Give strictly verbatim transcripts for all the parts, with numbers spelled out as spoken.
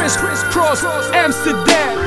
Chris, Chris Cross, Amsterdam.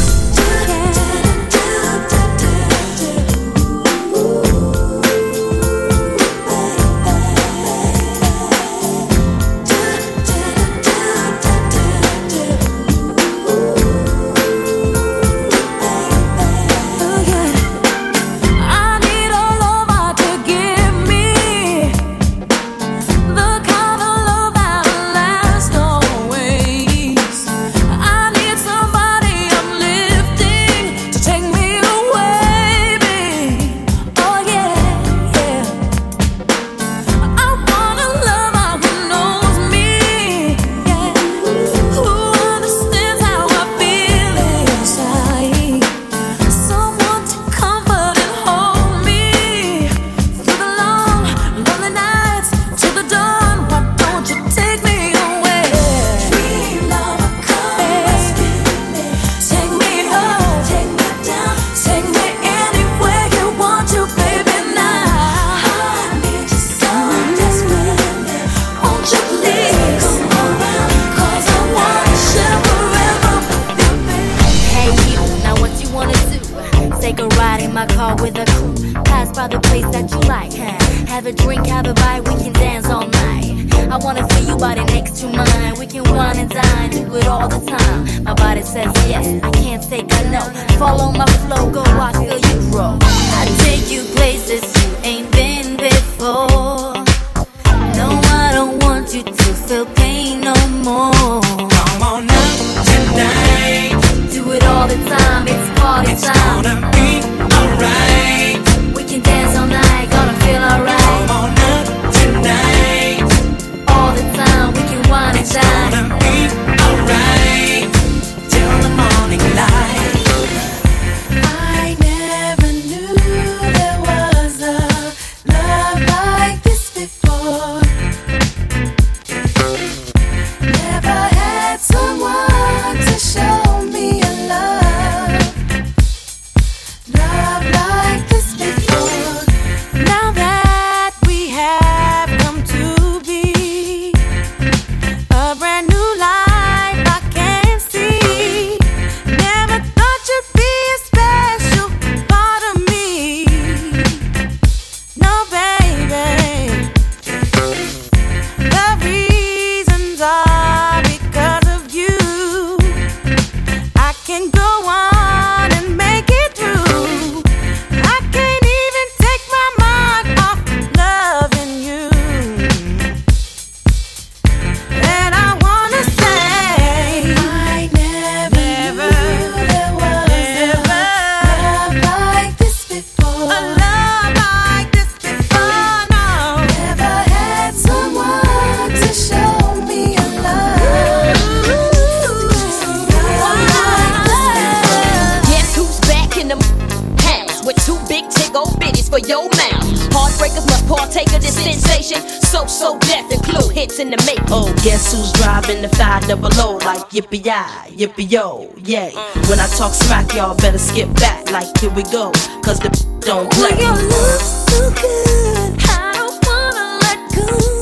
Yippee-yi, yippee-yo, yay. When I talk smack, y'all better skip back. Like, here we go, cause the don't play. Oh, your love's so good, I don't wanna let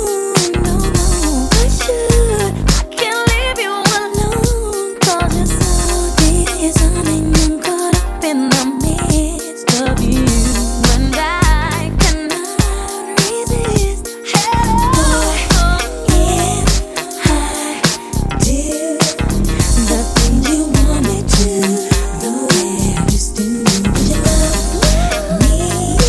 go. No, no, I should. I can't leave you alone. Cause you're so decent and you're caught up in the midst of you. And I cannot resist. Hey, boy, yes, I do. The things you want me to, the way I used to do. Would you love me,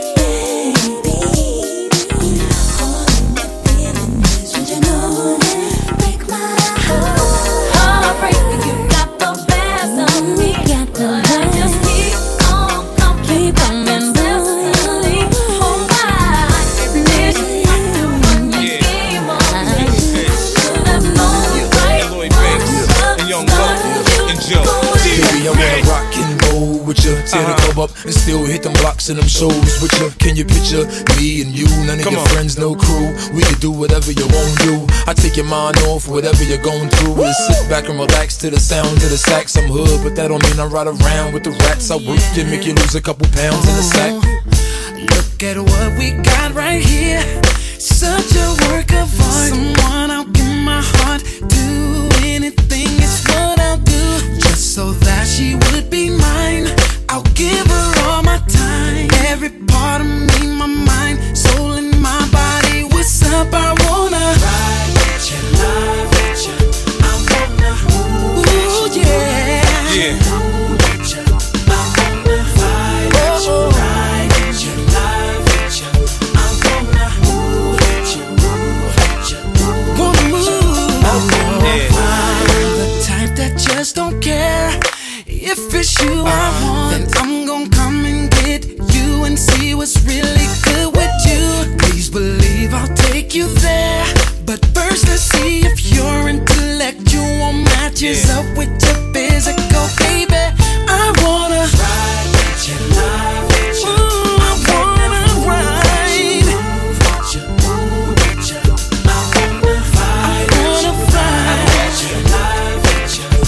baby? All in the feeling is, would you know that? Break my heart, heartbreak. You got the best of me. Got the best. I just keep on coming, keep on mentally. Oh my, this is the one you gave on me. Should have known you right. Lloyd Banks and Young Buck and Joe. Baby, I wanna rock and roll with you, tear the club up and still hit them blocks and them shows with you. Can you picture me and you? None of Come your on. friends, no crew. We could do whatever you want to do. I take your mind off whatever you're going through. Just sit back and relax to the sound of the sax. I'm hood, but that don't mean I ride around with the rats. I work you, make you lose a couple pounds in the sack. Look at what we got right here. Such a work of art. Someone I'll give my heart. Do anything, it's it's you I want, then I'm gon' come and get you and see what's really good with you. Please believe I'll take you there, but first let's see if your intellectual matches Yeah. up with your physical, baby. I wanna ride with you, lie with you. Ooh, I wanna ride. Move with you, move with you. I wanna ride. I wanna ride with you, lie with you.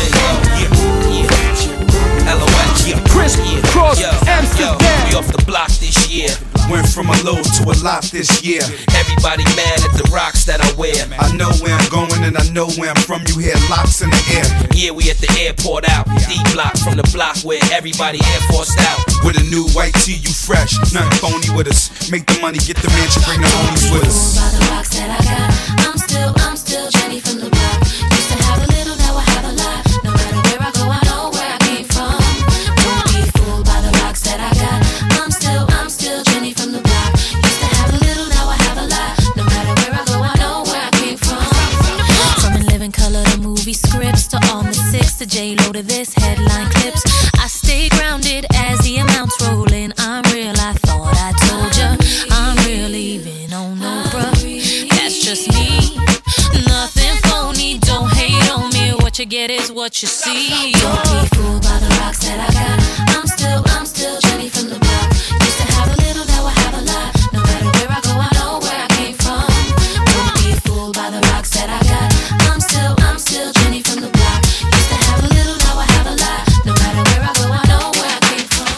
L O L, yeah. Chris Cross, Yo, Amsterdam. yo, we off the block this year. Went from a low to a lot this year. Everybody mad at the rocks that I wear. I know where I'm going and I know where I'm from. You hear locks in the air. Yeah, we at the airport out. D block from the block where everybody air forced out. With a new white tee, you fresh. Nothing phony with us. Make the money, get the mansion, bring the homies with us. By the rocks that I got, I'm still, I'm still Jenny from the block. Used to have a little, now I have a lot. No matter where I go, I know where I came from. Don't be fooled by the rocks that I got. I'm still, I'm still Jenny from the block. Used to have a little, now I have a lot. No matter where I go, I know where I came from. From In Living Color to movie scripts to all the six to J-Lo to this headline clips. I stay grounded as the amounts roll in. I'm real, I thought I told ya. I'm real even on no bruh. That's just me. Nothing phony, don't hate on me. What you get is what you see. Don't be fooled by the rocks that I got. I'm still, I'm still Jenny from the block. Used to have a little, now I have a lot. No matter where I go, I know where I came from. Don't be fooled by the rocks that I got. I'm still, I'm still Jenny from the block. Used to have a little, now I have a lot. No matter where I go, I know where I came from.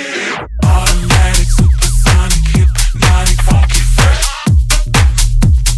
Automatic, supersonic, hypnotic, funky fresh.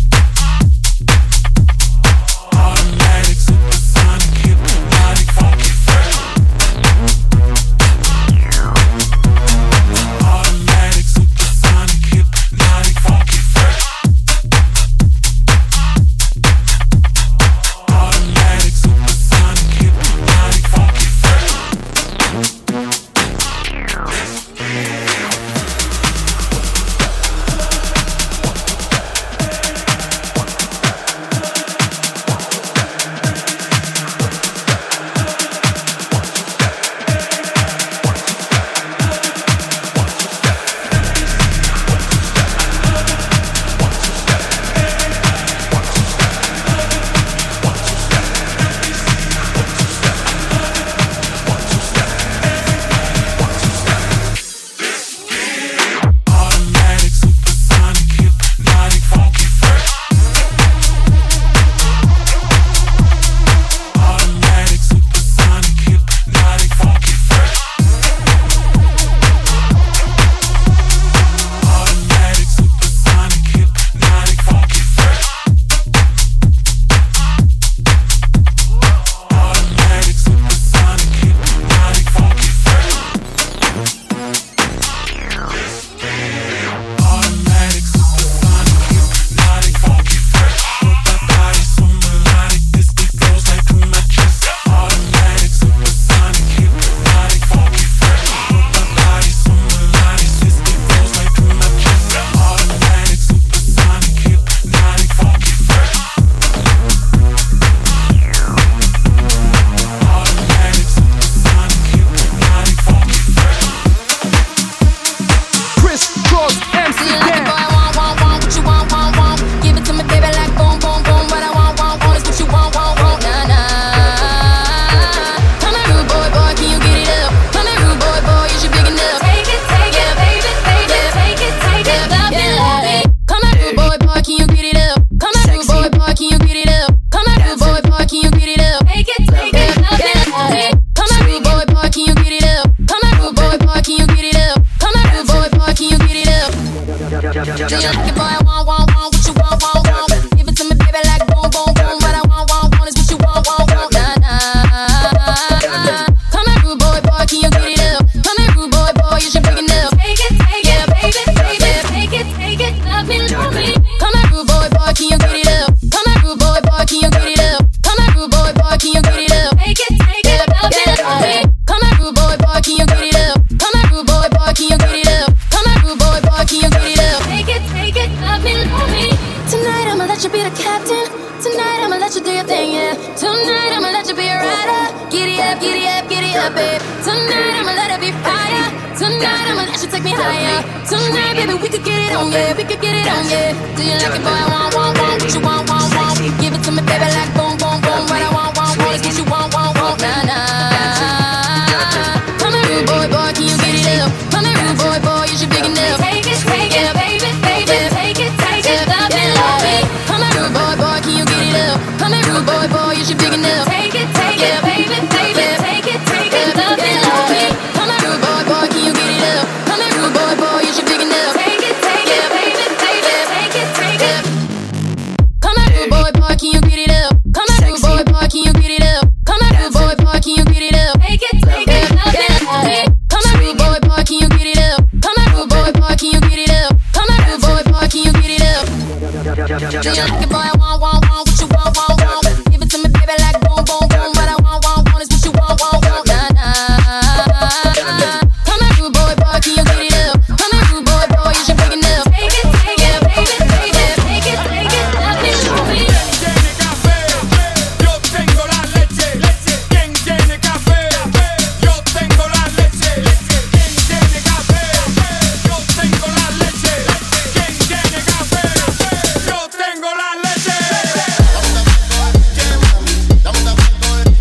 let you be the captain. Tonight I'ma let you do your thing, yeah. Tonight I'ma let you be a rider. Giddy up, giddy up, giddy up, babe. Tonight I'ma let it be fire. Tonight I'ma let you take me higher. Tonight, baby, we could get it on, yeah. We could get it on, yeah. Do you like it, boy? I want, want, want. What you want, want, want. Give it to me, baby, like boom, boom, boom. What I want, want, want. Is what you want, want, want. Nah, nah. Come here, rude boy, boy, can you get it up? Come here, rude boy, boy, you should big enough. Take it, take it, baby, baby, take it, take it, love me, love me. Come here, rude boy, boy, can you get it up? Come here, rude boy, boy, you should big enough. Take it, take it, baby, baby, take it, take it, love me, love me. Come here, rude boy, boy, can you get it up? Come here, rude boy, boy, you should big enough. Take it, take it, baby, baby, take it, take it. Come here, rude boy, boy, can you get it up? Come here, rude boy, boy, can you get it up? Come here, rude boy, boy, can you get it up? Take it, take it, love me, love me. Come here, rude boy, boy, can you get it up? Come here, rude boy, boy, can you get it up? Come here, rude boy, boy, can you get it up? Do you like it, boy? I want, want, want. What you want, want, want. Give it to me, baby, like boom, boom, boom. What I want, want, want is what you want, want, want. Nah, nah. Come here, rude boy, boy, can you get it up? Come here, rude boy, boy, you should big enough. Take it, take it, baby, baby, take it, take it, love me, love me. Tiene café, yo tengo la leche, leche. ¿Quién tiene café? Yo tengo la leche, leche. ¿Quién tiene café? Yo tengo la leche, leche. ¿Quién tiene café? Yo tengo la leche.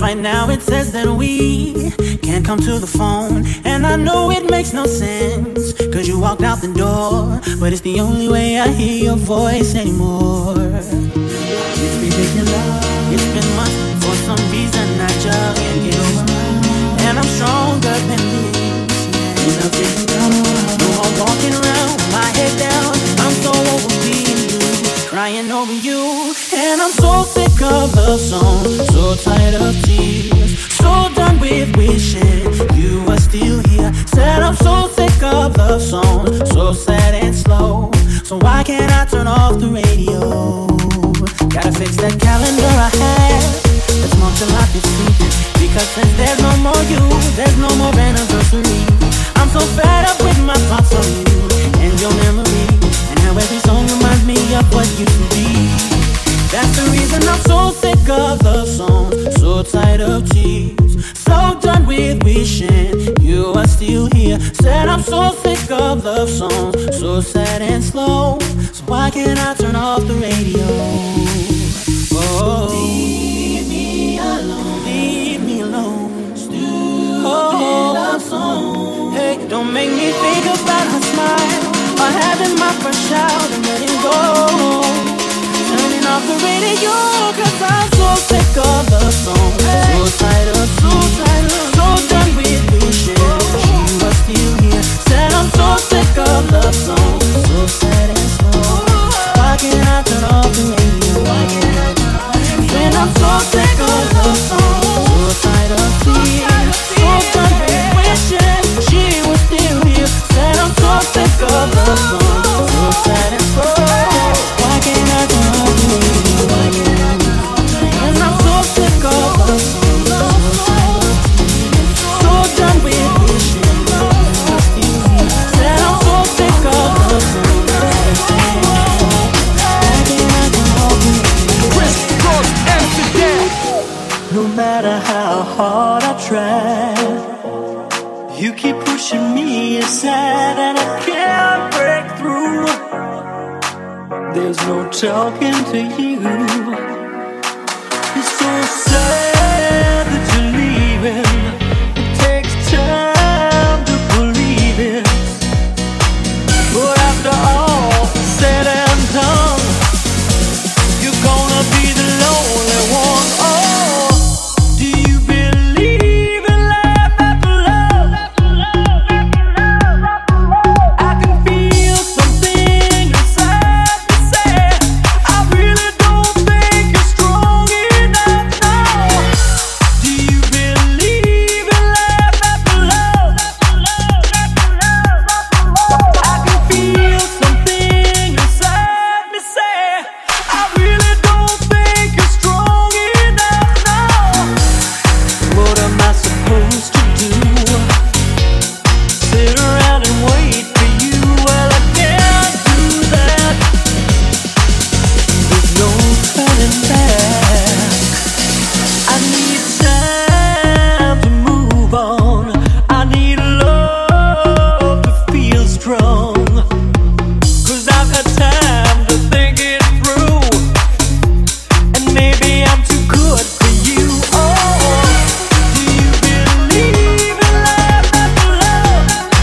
Right now it says that we can't come to the phone, and I know it makes no sense, cause you walked out the door, but it's the only way I hear your voice anymore. It's ridiculous, it's been months, for some reason I just can't get over, and I'm stronger than this, yeah. No more walking around with my head down, I'm so over being blue, crying over you, and I'm so sick of love songs, so tired of tears, so done with wishing you were still here. Said I'm so sick of love songs, so sad and slow, so why can't I turn off the radio? Gotta fix that calendar I have, that's marked a lot this week, because since there's no more you, there's no more anniversary. I'm so fed up with my thoughts on you and your memory, and how every song reminds me of what used to be. That's the reason I'm so sick of love songs, so tired of tears, so done with wishing you are still here. Said I'm so sick of love songs, so sad and slow, so why can't I turn off the radio? Oh, leave me alone, leave me alone. Stupid oh, love song. Hey, don't make me think about her smile, or having my first shout and letting go. Turning off the radio, cause I'm so sick of love songs, so tired of, so tired of, so done with wishing she was still here. Said I'm so sick of love songs, so sad and slow, why can't I turn off the radio? Why can't I turn off the radio? Said I'm so sick of love songs, so tired of tears, so done with wishing she was still here. Said I'm so sick of love songs, so sad and slow, why can't I turn off the radio? Why can't I turn off the radio? And I'm so sick of love songs, so tired of tears, so done with wishing she was still here. Said I'm so sick of love songs, so sad why can't I turn off the radio? Chris Cross, Amsterdam. No matter how hard I try, you keep pushing me aside, and I can't break through. There's no talking to you. It's so sad that you're leaving. It takes time to believe it, but after all said and done, you're gonna be the lonely one. Oh, do you believe in love after love? I can feel something inside me say, I really don't think you're strong enough now. Do you believe in love after love? I can feel something inside me say, I really don't think you're strong enough now. What am I supposed to do? Sit around and wait for you? Well, I can't do that. There's no turning back. I need time to move on. I need love to feel strong, cause I've had time to think it through, and maybe I'm too good for you. Oh, do you believe in love after love?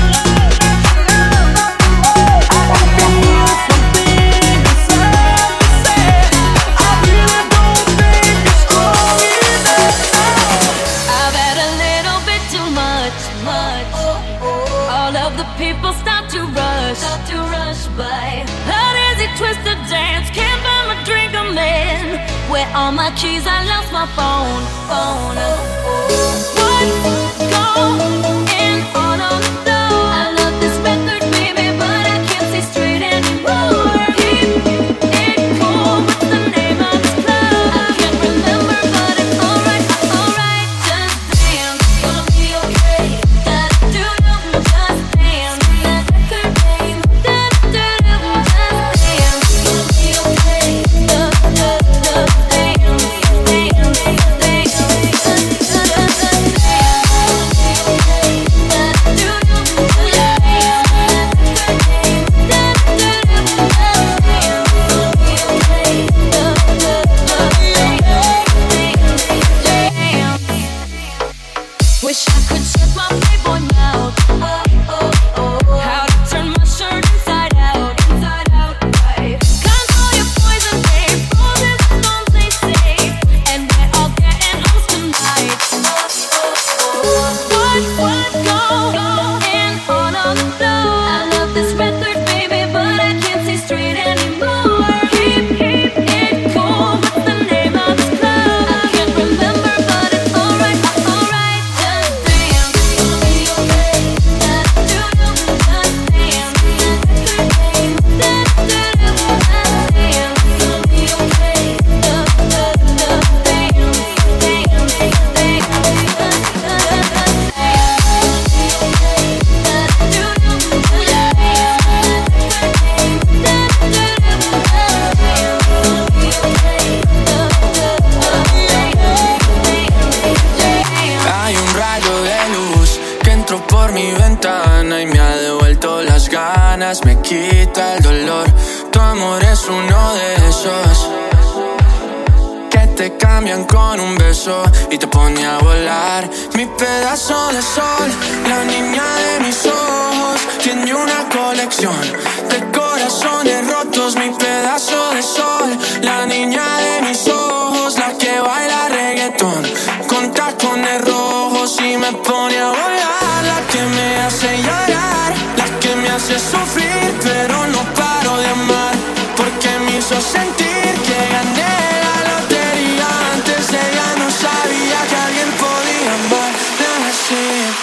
I can feel something inside me say, I really don't think you're strong enough now. I've had a little bit too much, much. All of the people start to rush, start to rush by. How does it twist the dance? Can't buy my drink, I'm in. Where are my keys? I lost my phone, phone. What's going on on the floor? I love this record, baby, but I can't see straight anymore. Keep it cool. What's the name of this club? I can't remember, but it's alright, alright. Just dance, gonna be okay. Da do do, just dance. That record name. Da do do, just dance, gonna be okay. Da da da, dance, dance, dance, dance, dance, dance. y me ha devuelto las ganas, me quita el dolor. Tu amor es uno de esos que te cambian con un beso y te pone a volar. Mi pedazo de sol, la niña de mis ojos, tiene una colección de corazones rotos. Mi pedazo de sol, la niña de mis ojos, la que baila reggaetón con tacones rojos y me pone a volar. La que me hace llorar, la que me hace sufrir, pero no paro de amar, porque me hizo sentir que gané la lotería. Antes de ella no sabía que alguien podía amarla así.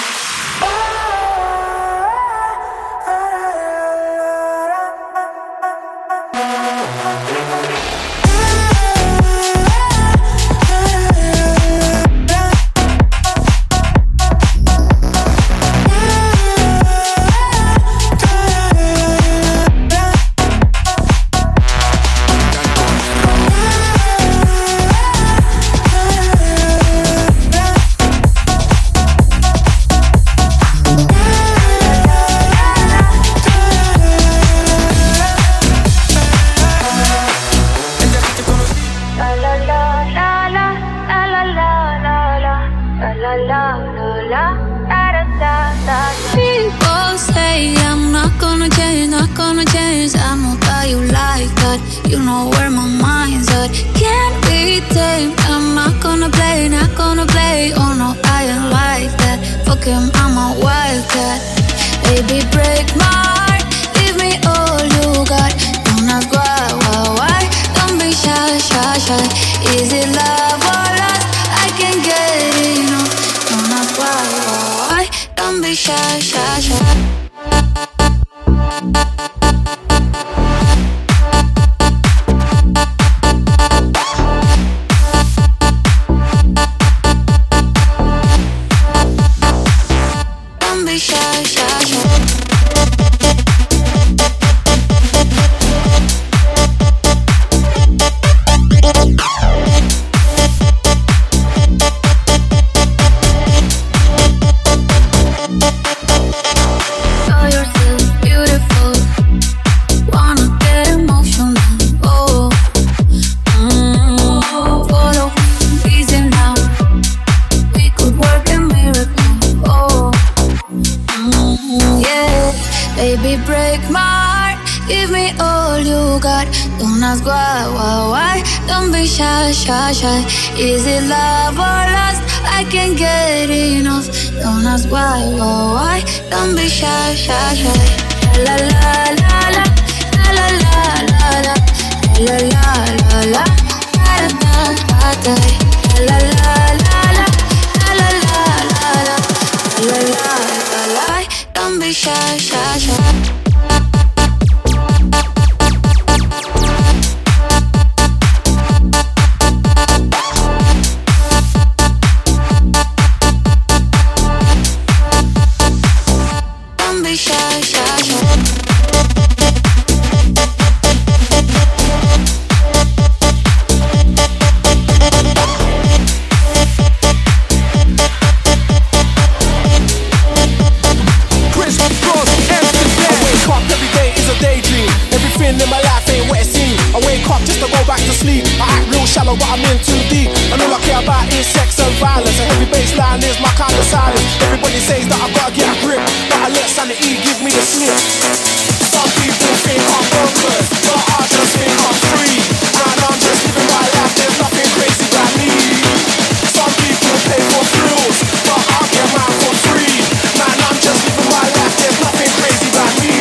People say I'm not gonna change, not gonna change. I know that you like that, you know where my mind's at. Can't be tamed, I'm not gonna play, not gonna play. Oh no, I ain't like that, fuck him, I'm a wildcat. Baby, break my heart, give me all you got. Don't ask why, why, why, don't be shy, shy, shy. Is it love or lust? I can't get enough. Don't ask why, why, why, don't be shy, shy, shy. Don't be shy, shy, shy. Show yourself beautiful. Wanna get emotional. Oh, mm, follow me, easy now. We could work a miracle. Oh, mm, yeah. Baby, break my heart. Give me all you got. Don't ask why, why, why. Don't be shy, shy, shy. Is it love or lust? I can't get enough. Don't ask why, why, why. Don't be shy, shy, shy. La la la la, la la la la la, la la la la, da da da da. La la la la, la la la la la, la la la la. Don't be shy, shy, shy. Don't be shy, shy, shy. Chris Cross, Amsterdam. I wake up every day is a daydream. Everything in my life ain't what it seems. I wake up just to go back to sleep. I act real shallow, but I'm in too deep. And all I care about is sex and violence. A heavy baseline is my kind of silence. Everybody says that I've gotta get a grip, but I let sanity give me the slip. Some people think I'm bonkers, but I just think I'm free. And I'm just living my life, there's nothing crazy about me. Some people pay for thrills, but I get mine for free. Man, I'm just living my life, there's nothing crazy about me.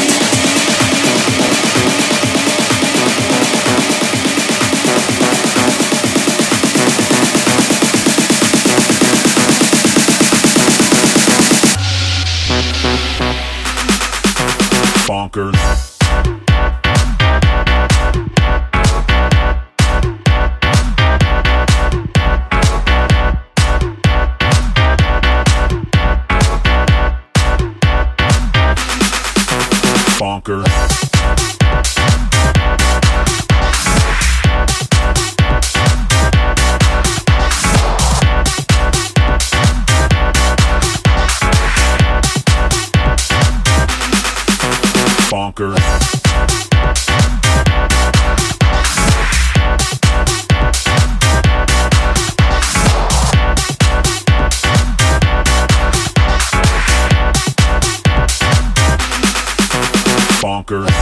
Bonkers. Bonkers. Bonkers. Bonkers.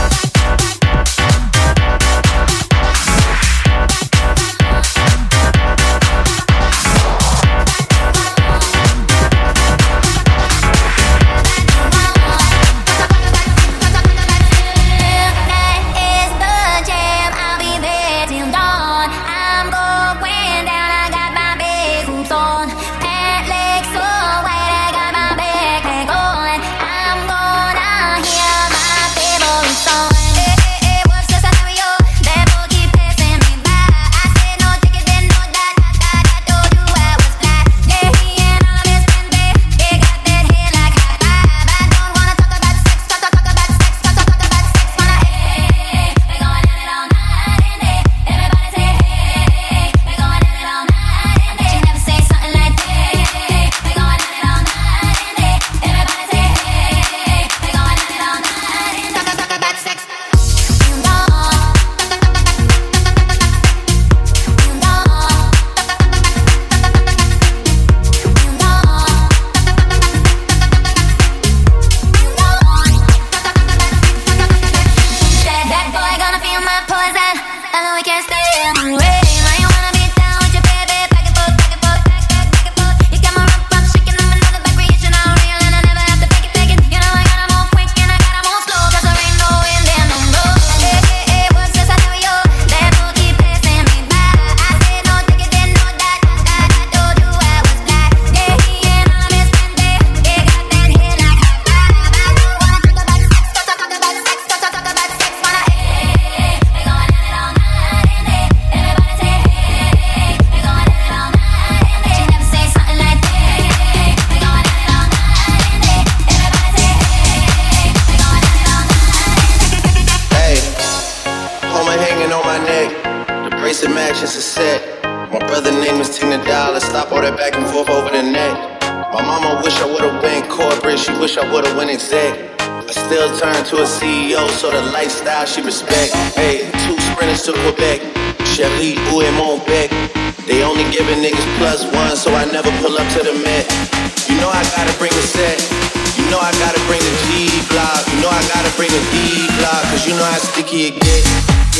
She respect, hey, two sprinters to Quebec, Shelly, Ou et Montbec. They only giving niggas plus one, so I never pull up to the Met. You know I gotta bring the set, you know I gotta bring the G block, you know I gotta bring the D block, cause you know how sticky it get.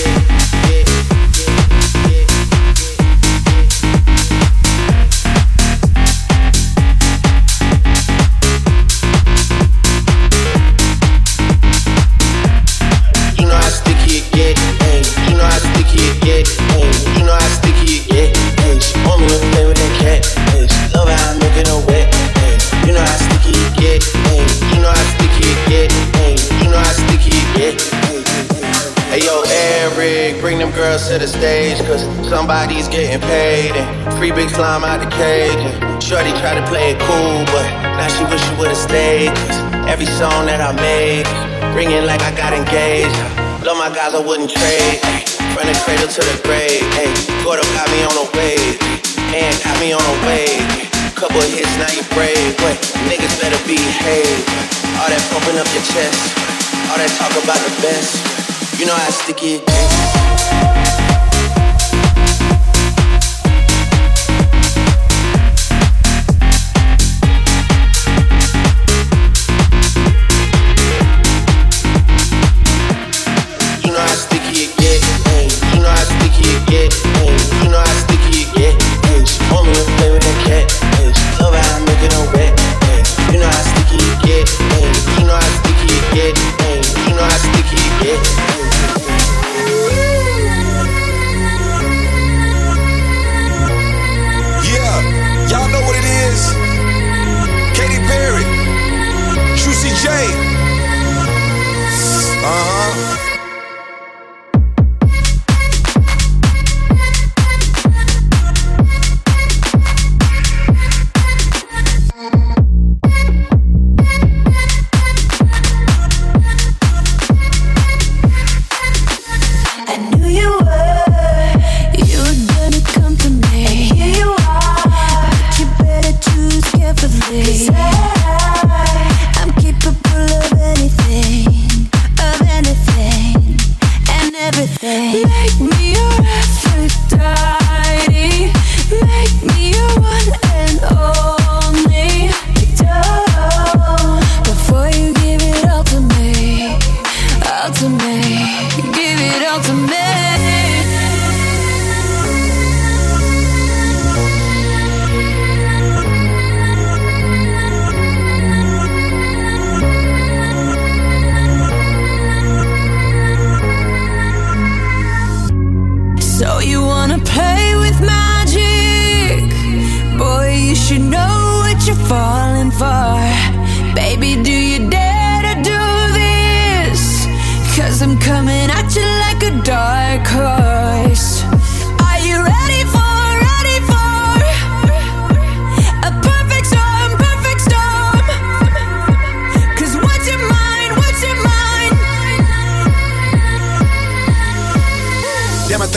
To the stage, cause somebody's getting paid, and free big slime out the cage. And shorty tried to play it cool, but now she wish she would've stayed, cause every song that I made, ringing like I got engaged. Love my guys, I wouldn't trade, ay, from the cradle to the grave. Ay, Gordo got me on a wave, and got me on a wave. Couple of hits, now you brave, but niggas better behave. All that pumping up your chest, all that talk about the best, you know how sticky it gets.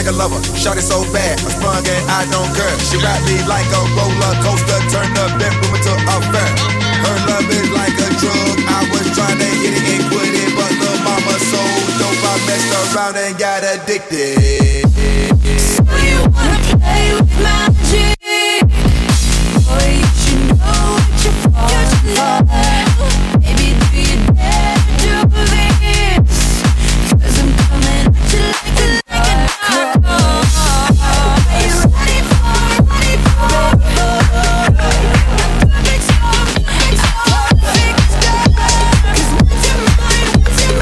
like a lover. Shot it so bad, I sprung and I don't care. She ride me like a roller coaster, turn the bedroom into a fair. Her love is like a drug. I was trying to hit it and quit it, but little mama so dope I messed around and got addicted. So you wanna play with magic? Boy, you should know what you're falling for. Baby, do you dare to do this? 'Cause I'm coming at you like a like a Are you ready for it? Ready for it? Perfect storm, perfect storm, perfect storm. 'Cause what's your mind? What's your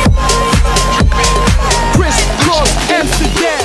mind? Chris Cross, Amsterdam.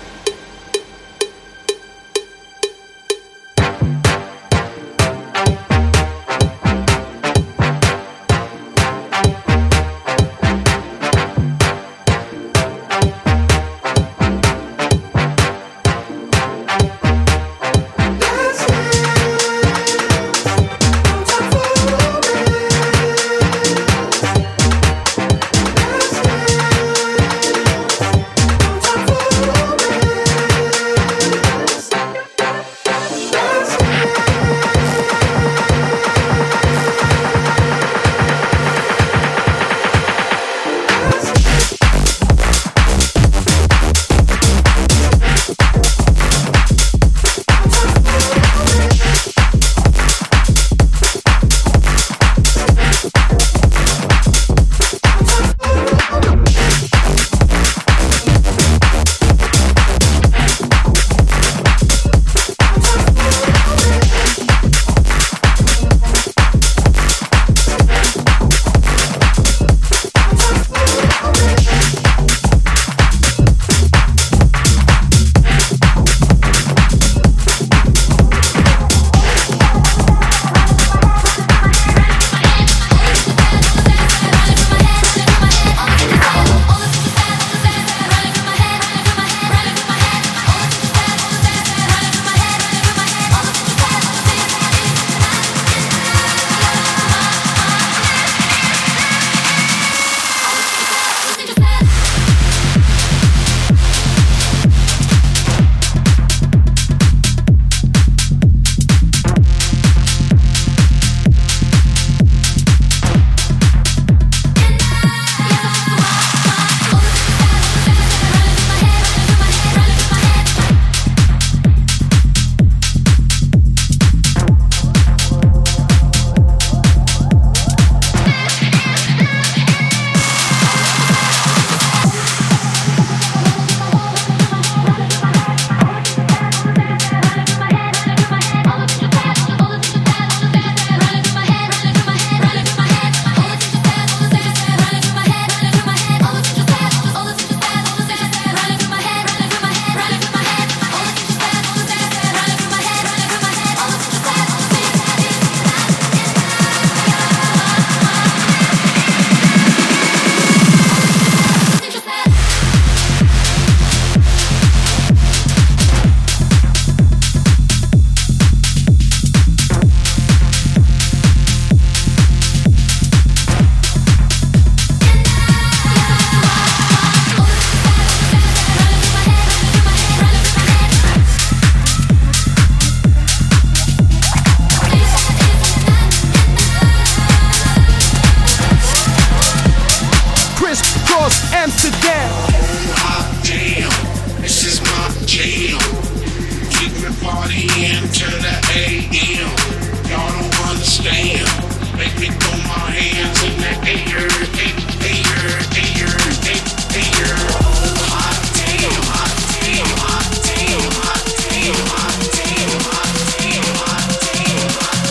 Amsterdam. Oh, hot damn, this is my jam. Keep me partying to the A M. Y'all don't understand. Make me throw my hands in the air, air, air, air, air, air. Oh, hot damn, hot damn, hot damn, hot damn, hot damn, hot damn, hot damn,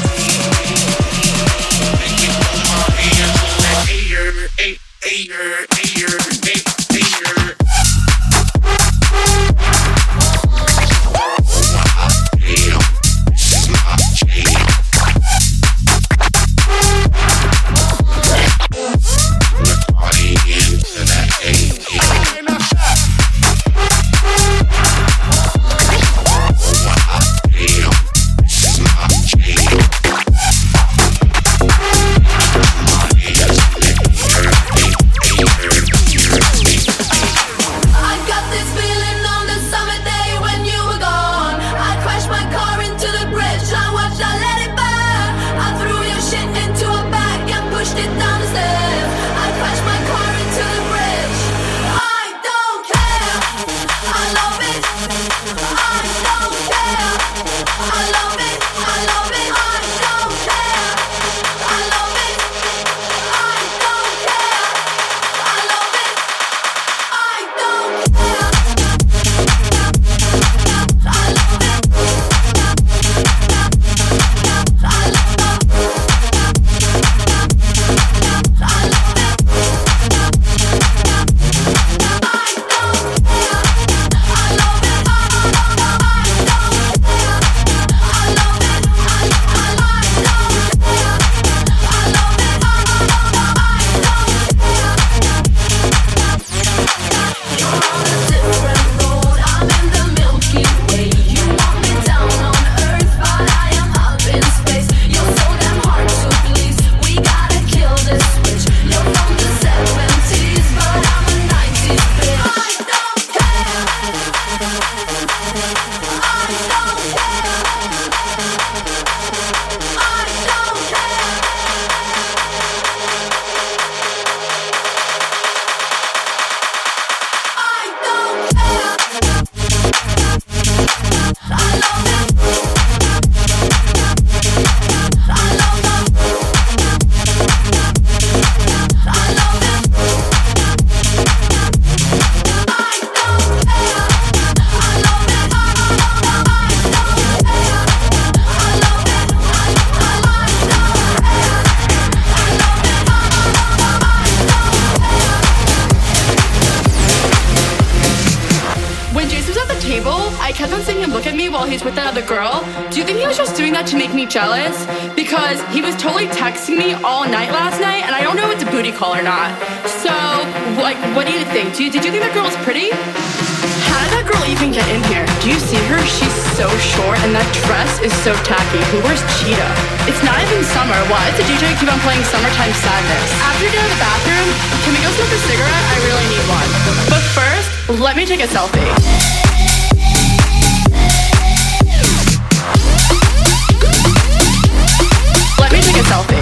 hot damn. Make me throw my hands in the air, air, air, air, air, air. me while he's with that other girl? Do you think he was just doing that to make me jealous? Because he was totally texting me all night last night, and I don't know if it's a booty call or not. So, like, what do you think? Do you, did you think that girl was pretty? How did that girl even get in here? Do you see her? She's so short, and that dress is so tacky. Who wears cheetah? It's not even summer. Why does the D J keep on playing Summertime Sadness? After you're done in the bathroom, can we go smoke a cigarette? I really need one. But first, let me take a selfie. Let me take a selfie.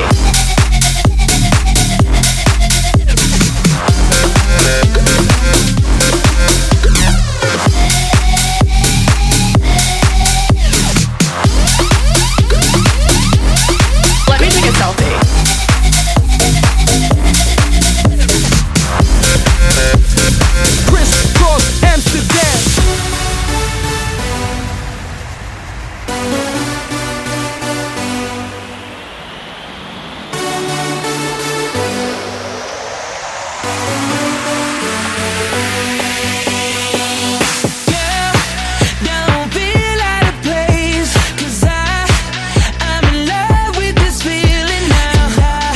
Let me take a selfie. Chris Cross Amsterdam. Don't feel out of place, 'cause I, I'm in love with this feeling now.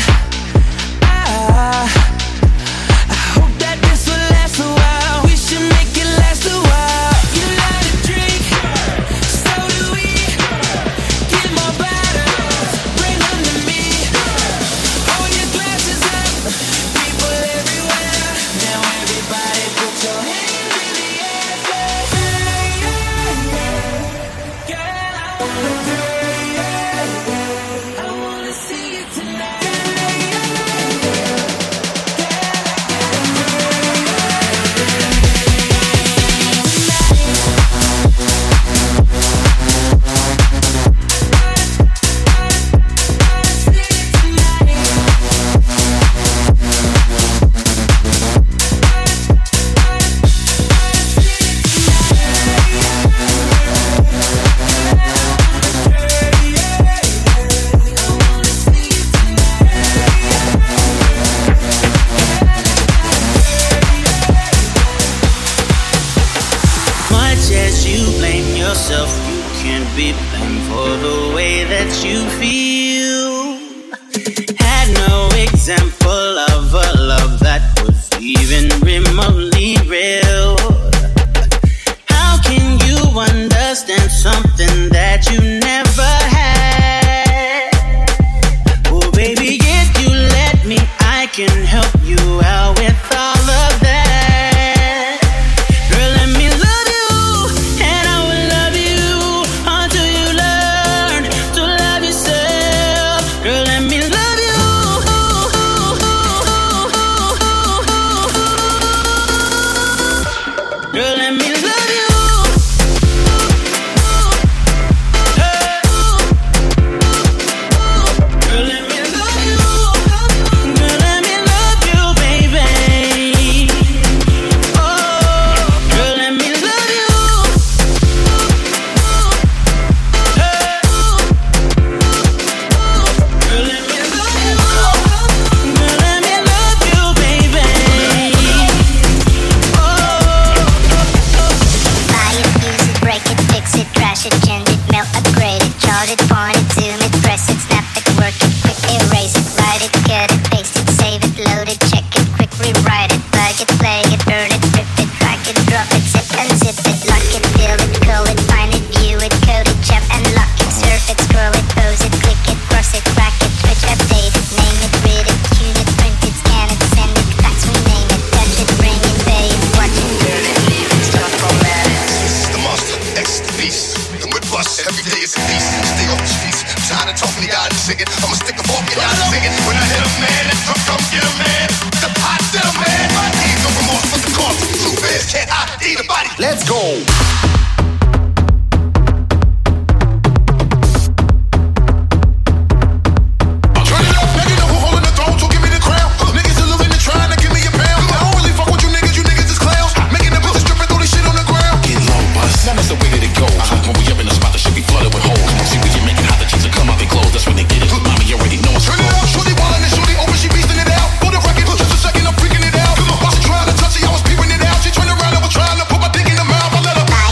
I, I, I hope that this will last a while. We should make it last a while. You like to drink, so do we. Get more bottles, bring them to me. Hold your glasses up, people everywhere. Now everybody put your hands in the air. Girl, I wanna do it. I wanna see you tonight. Much as you blame yourself, you can't be blamed for the way that you feel. Had no example of a love that was even remotely real. How can you understand something that you never had? Oh, baby, if you let me, I can help you out with all of that. Girl, let me love you, and I will love you until you learn to love yourself. Girl, let me love you. Girl, let me love you. Girl, let me love you. Girl, let me love you, baby. Oh, girl, let me love you. Girl, let me love you. Girl, let me love you, baby. Buy it, use it, break it, fix it, trash it, change it, melt, upgrade it, chart it, point it, zoom it, press it, snap it, work it, quick erase it, write it, cut it, paste it, save it, load it, check it, quick rewrite it, plug it, play it, burn it, rip it, drag it, drop it, zip and zip it, lock it, fill it, call it, find it, view it, code it, chap and lock it, surf it, scroll it, pose it, click it, cross it, crack it, switch, update it, name it, read it, tune it, print it, scan it, send it, fax, rename it, touch it, bring it, pay it, watch it, turn it, leave it, stop, format it. This is the monster, X is the beast. And with bust, every day is a feast. Stay off the streets. I'm tired of talking to y'all and singing. I'ma stick a fork in y'all and singing. When I hit a man, that drum come get a man. The pot to the man. My ain't no remorse for the cost. Truth is, can't I eat a body? Let's go. Turn it up, nigga, know who holding the throne, so give me the crown. Niggas are living and trying to give me a pound. I don't really fuck with you niggas, you niggas is clowns. Making the bitches strip and throw this shit on the ground. Get low, bust. Now that's the way that it goes. When we up in the spot, the shit be flooded with holes. See, we can make it hot, the chicks will come out their clothes. That's when they get it. Mommy already know it's turn it up, shorty wildin' and shorty open, she beastin' it out. For the record, just a second, I'm freaking it out. While she trying to touch it, I was peeping it out. She turned around and was trying to put my dick in her mouth. I let her.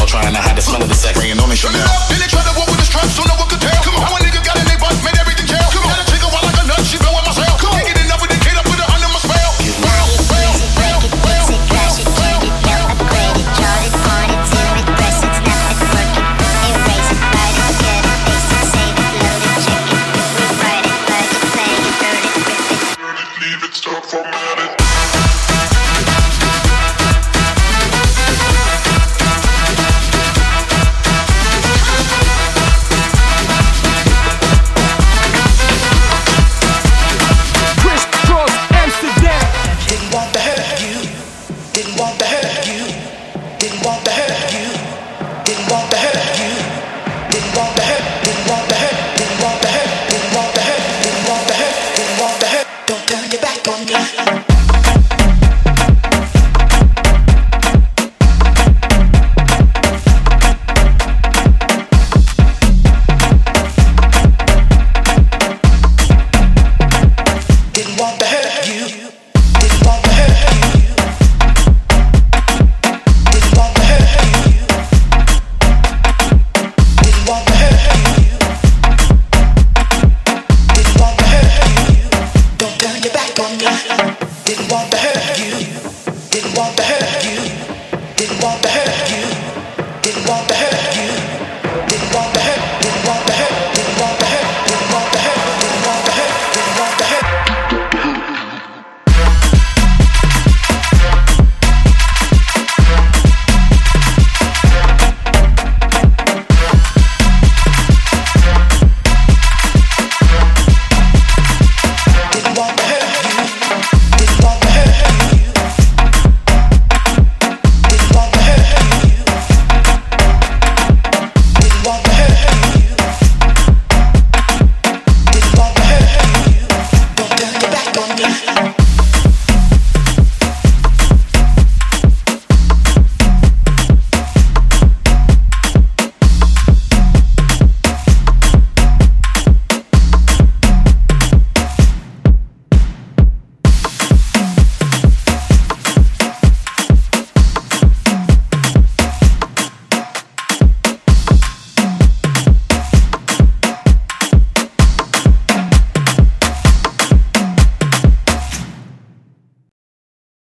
Chanel, trying to hide the smell of the sex. Bringing on the Chanel. Then they try to walk with the straps, so no one could tell. Come on, how a nigga got in they butt, made everything jail. Come on, had a chick wild like a nut, she been with myself. Come on, can't get enough with the kid, I put her under my spell. Well, well, well, well, Crash it, change it, melt, upgrade it, chart it, point it, zoom it, press it, snap it, work it, erase it, write it, cut it, paste it, save it, load it, check it, rewrite it, plug it, play it, burn it, rip it. Leave it, stop formatting.